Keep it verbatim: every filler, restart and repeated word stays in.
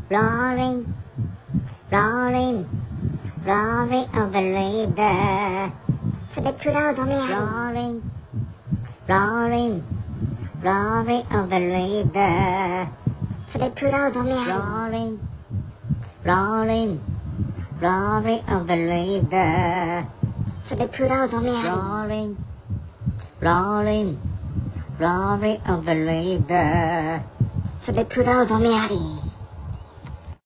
Roaring, roaring, roaring of the river. To the crowd of me, roaring, roaring, roaring of the river. To the crowd of me, roaring, roaring, roaring of the river. To the crowd of me, roaring, roaring, roaring of the river. To the crowd of me.